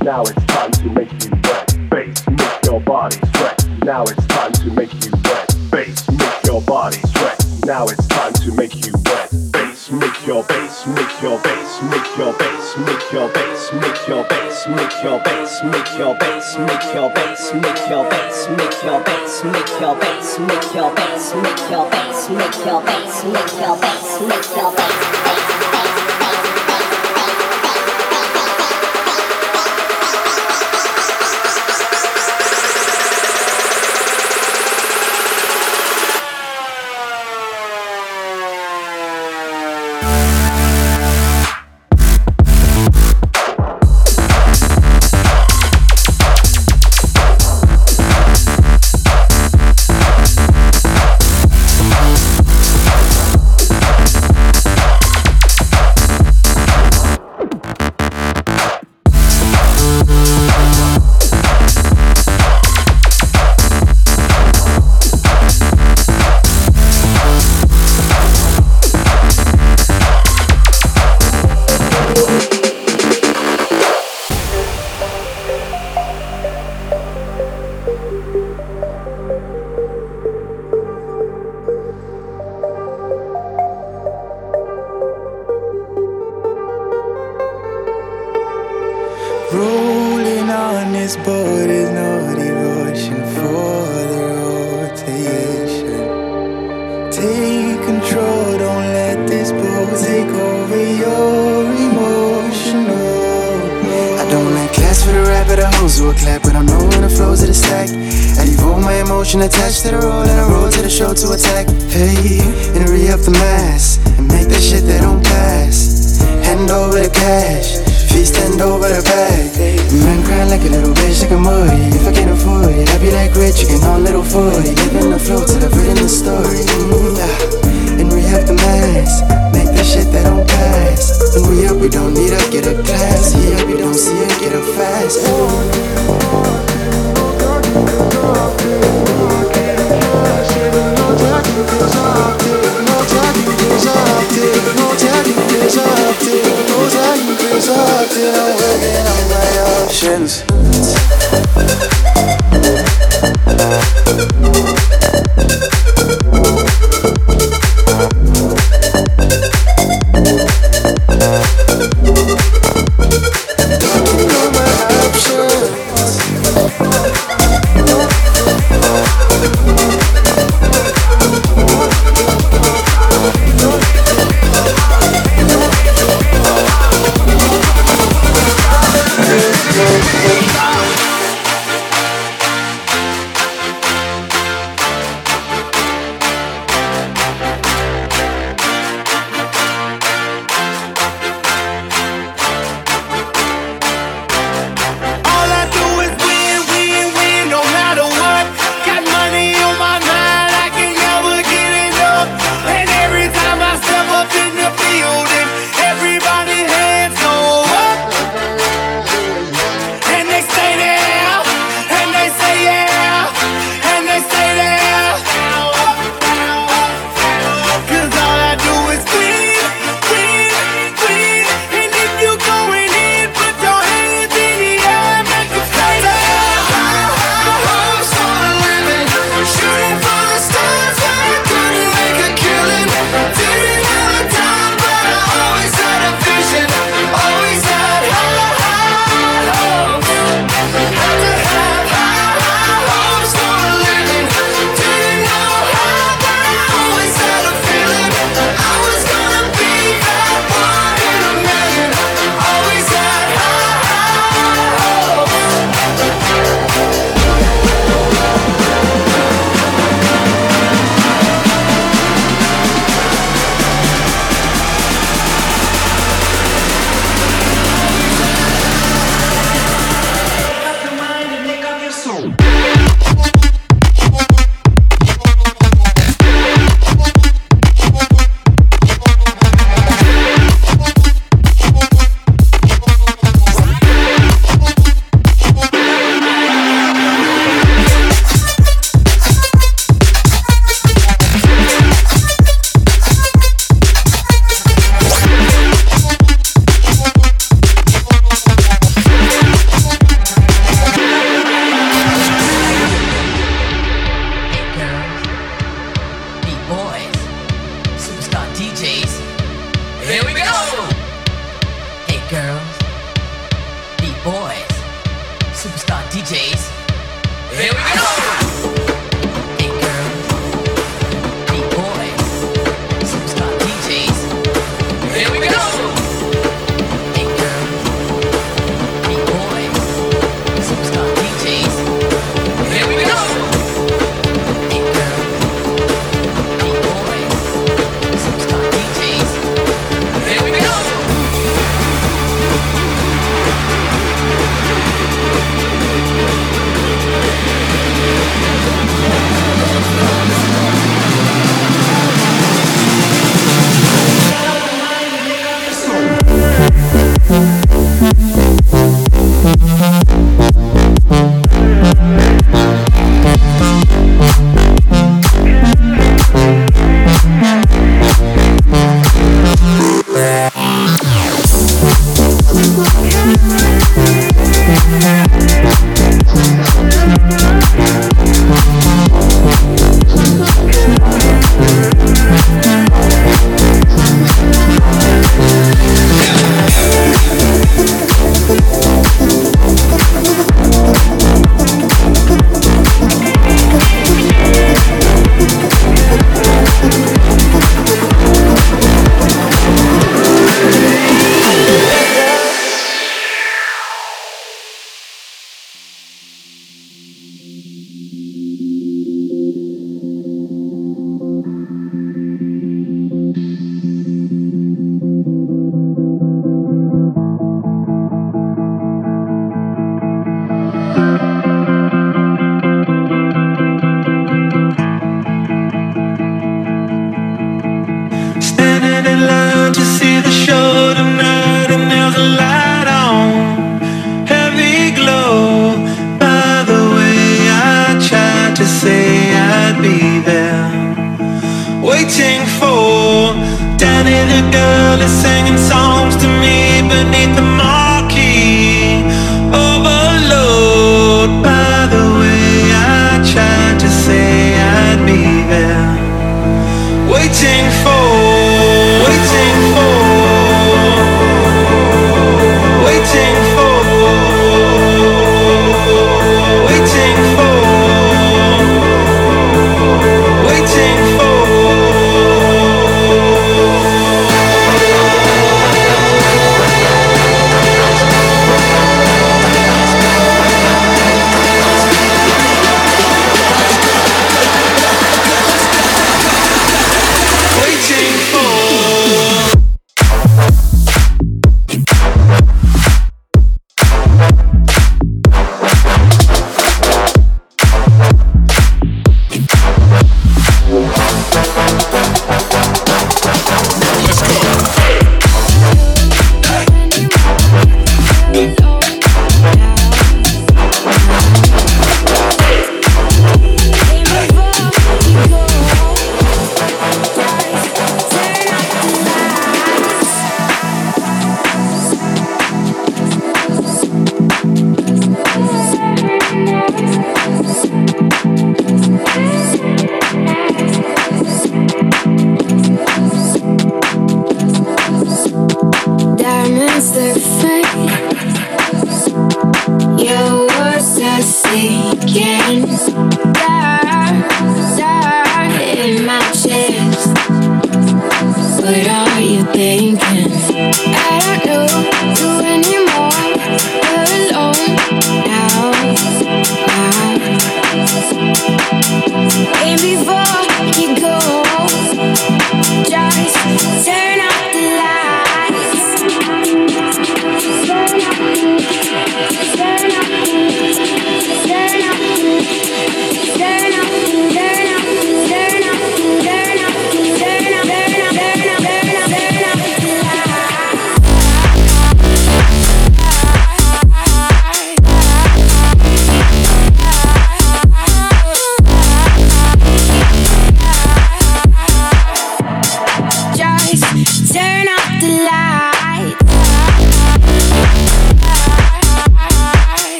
Now it's time to make you wet. Bass, make your body sweat. Now it's time to make you wet. Bass, make your body sweat. Now it's time to make you wet. Bass, make your bass, make your bass, make your bass, make your bass, make your bass, make your bass, make your bass, make your bass, make your bass, make your bass, make your bass, make your bass, make your bass, make your bass, make your bass, make your bass. Rolling on this boat is no devotion for the rotation. Take control, don't let this boat take over your emotional. I don't like class for the rap or the hoes who a clap, but I'm knowing the flows of the stack. I devote my emotion attached to the roll and I roll to the show to attack. Hey, and re-up the mass and make that shit that don't pass. Hand over the cash. Feet stand over the bag. Man crying like a little bitch, like a muddy. If I can't afford it, I be like rich, you can on little 40. Living the flow till I've written the story. And re-up the mass, make the shit that don't pass. When we up, we don't need up, get a class. Yeah, we don't see it, get up fast. Till I'm working on my options. Superstar DJs. Here we go! Hey girl, hey boy, Superstar DJs. Here we go! Hey girl, hey boy, Superstar DJs. Here we go! Hey girl, hey boy, Superstar DJs. Here we go!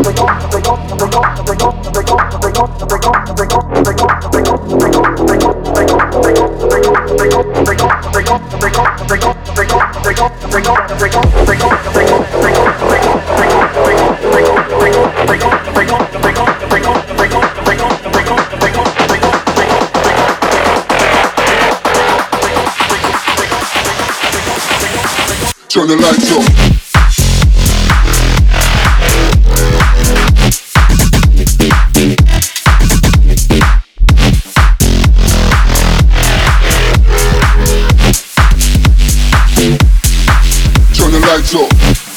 Turn the lights off. Turn the lights off.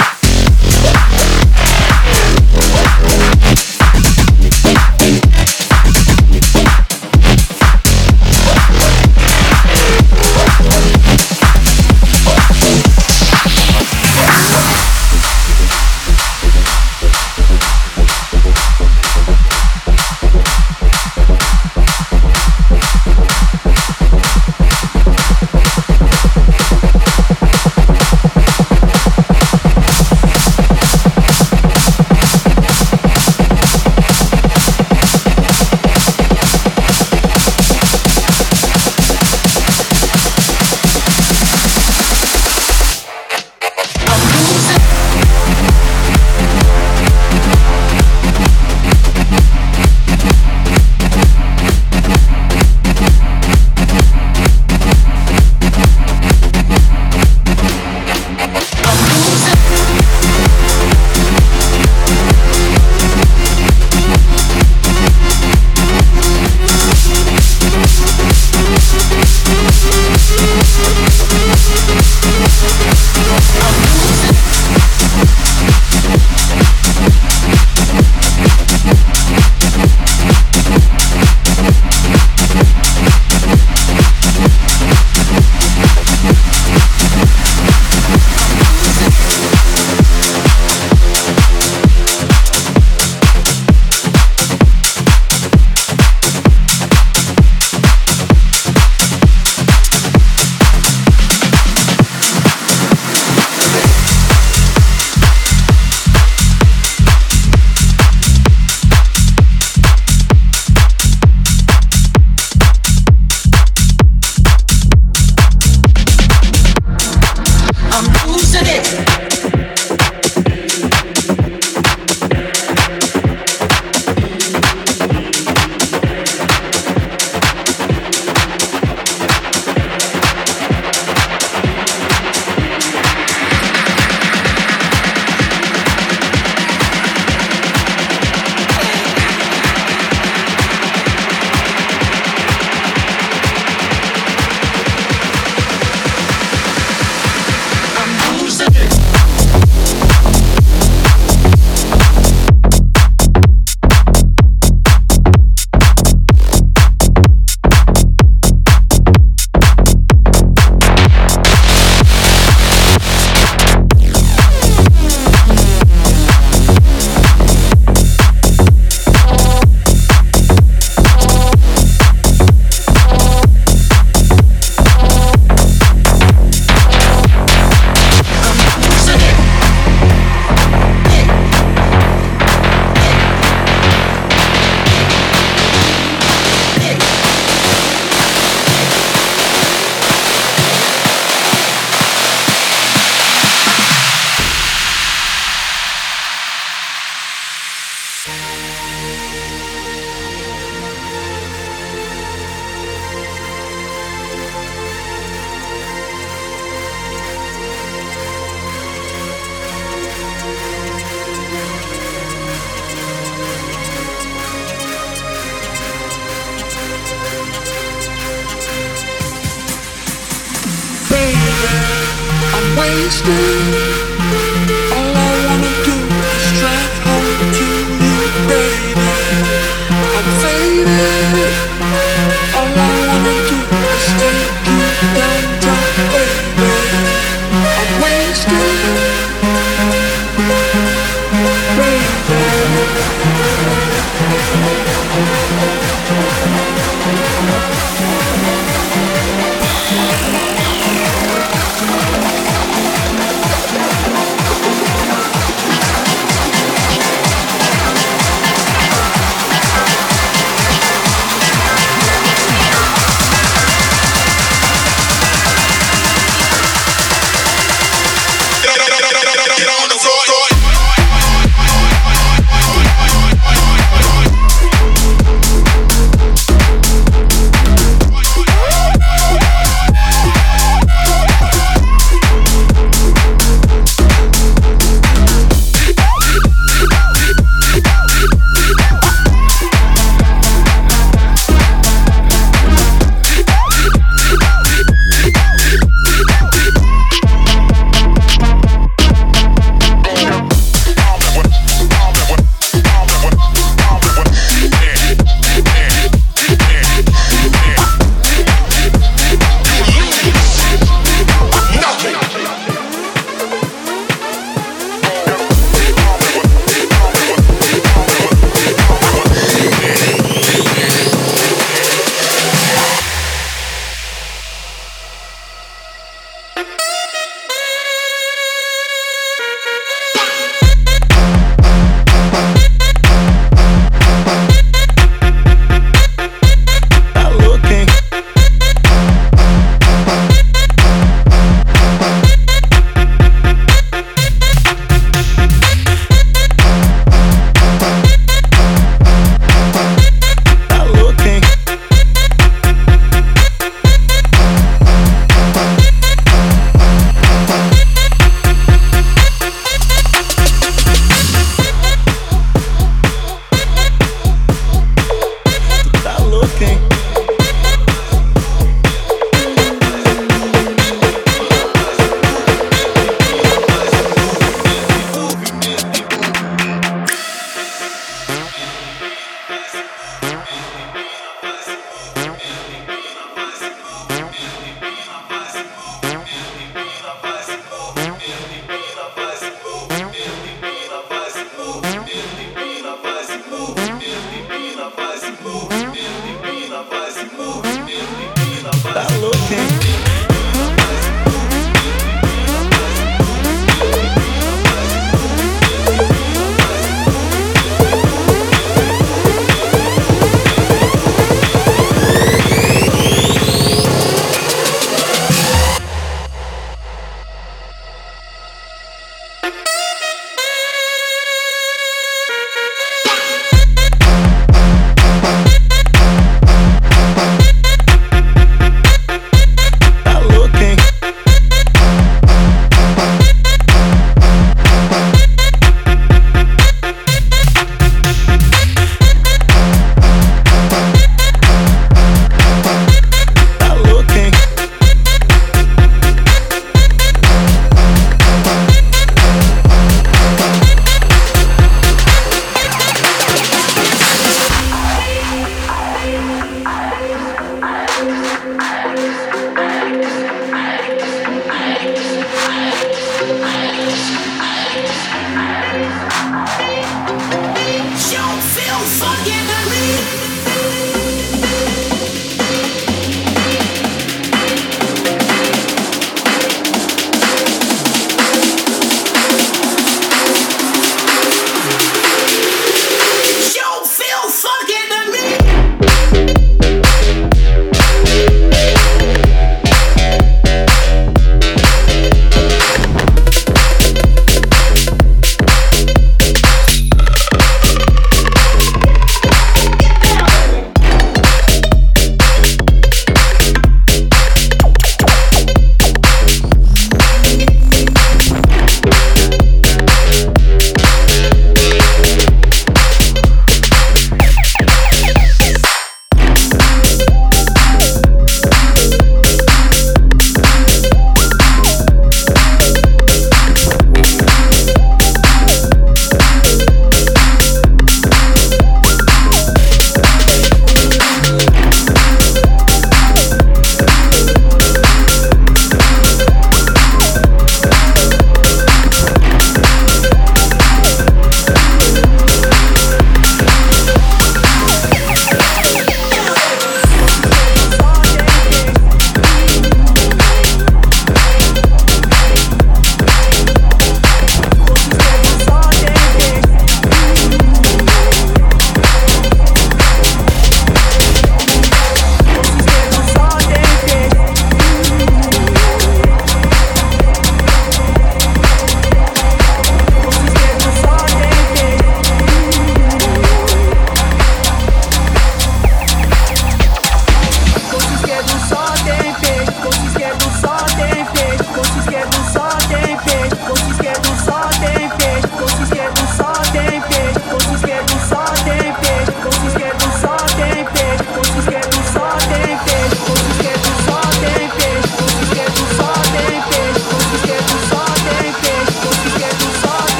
wasted. All I wanna do is drive home to you, baby. I'm faded. All I wanna do is take you downtown, baby. I'm wasted, baby.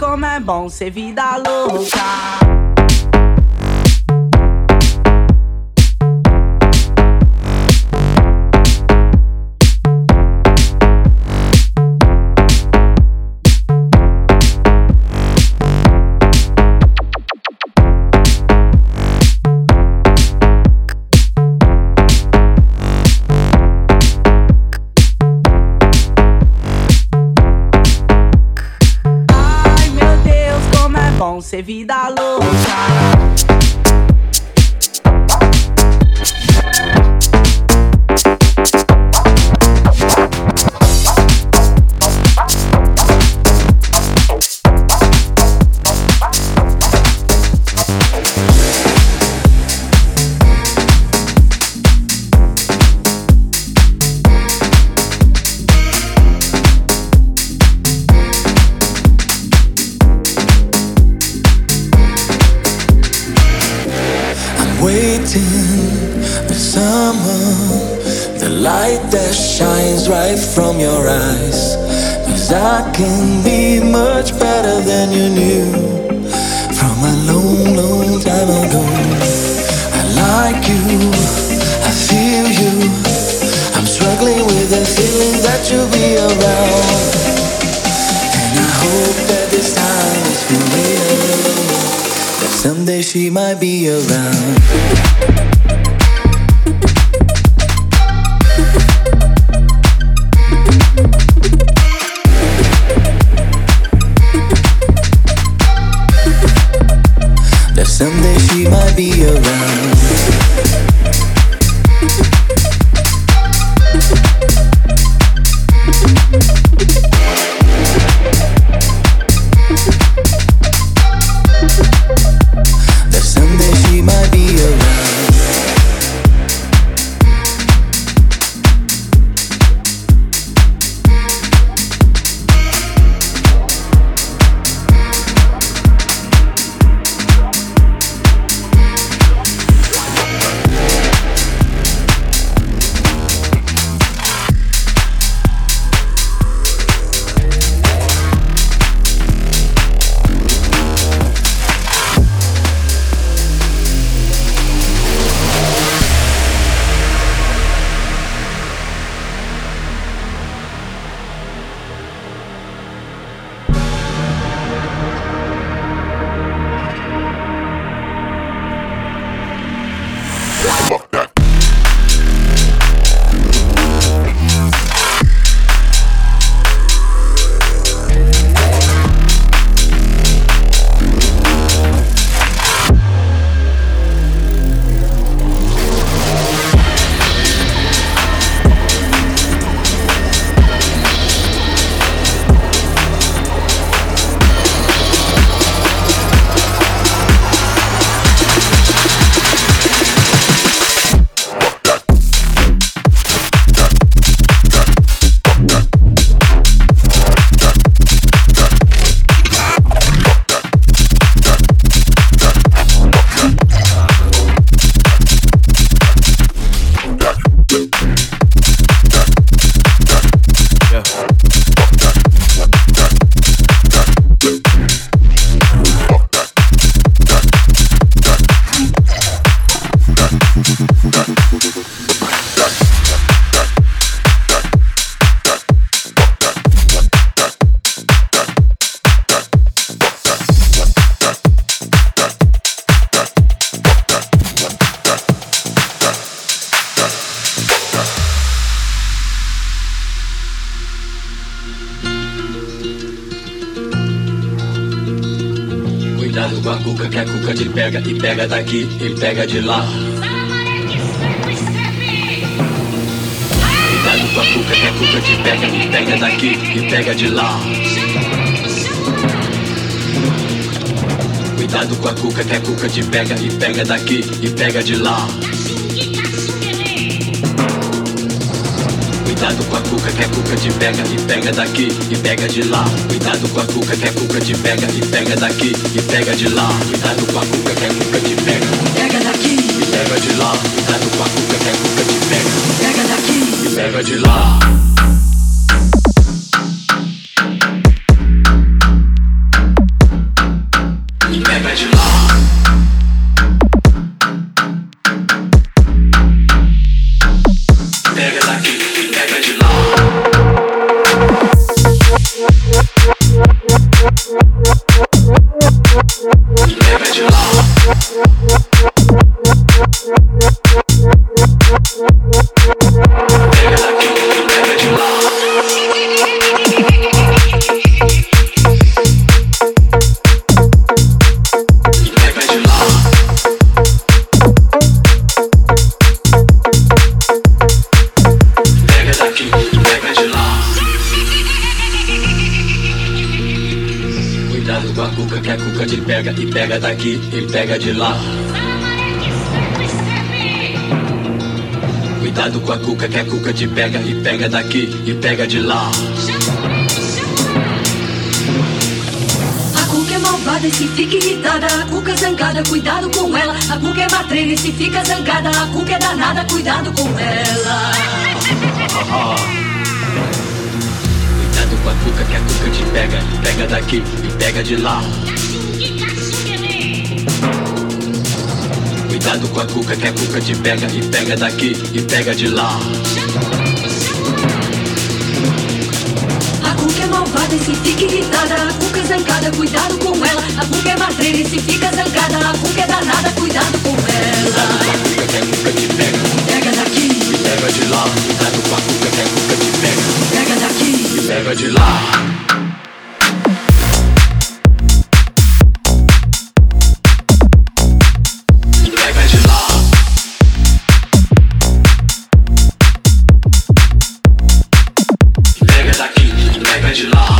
como é bom ser vida louca. Ser vida louca. The summer, the light that shines right from your eyes. 'Cause I can be much better than you knew from a long, long time ago. I like you, I feel you. I'm struggling with the feeling that you'll be around. And I hope that this time is for real, that someday she might be around. Someday she might be around. That someday she might be around. Cuidado com a cuca, que a cuca te pega e pega daqui e pega de lá. Cuidado com a cuca, que a cuca te pega e pega daqui e pega de lá. Cuidado com a cuca, que a cuca te pega e pega daqui e pega de lá. Cuidado com a cuca, que a cuca te pega e pega daqui e pega de lá. Cuidado com a cuca, que a cuca te pega e pega daqui e pega de lá. Cuidado com a cuca, que a cuca te pega, pega daqui e pega de lá. Cuidado com a cuca, que a cuca te pega, pega daqui e pega de lá. cuca que a cuca te pega e pega daqui e pega de lá. Cuidado com a cuca que a cuca te pega e pega daqui e pega de lá. A cuca é malvada e se fica irritada, a cuca é zangada, cuidado com ela. A cuca é matreira e se fica zangada, a cuca é danada, cuidado com ela. Cuidado com a cuca que a cuca te pega e pega daqui e pega de lá. Cuidado com a cuca que a cuca te pega e pega daqui e pega de lá. A cuca é malvada e se fica irritada, a cuca é zangada, cuidado com ela. A cuca é matreira e se fica zangada, a cuca é danada, cuidado com ela. Cuidado com a cuca que a cuca te pega e pega daqui e pega de lá. Cuidado com a cuca que a cuca te pega e pega daqui e pega de lá. Pega de lá.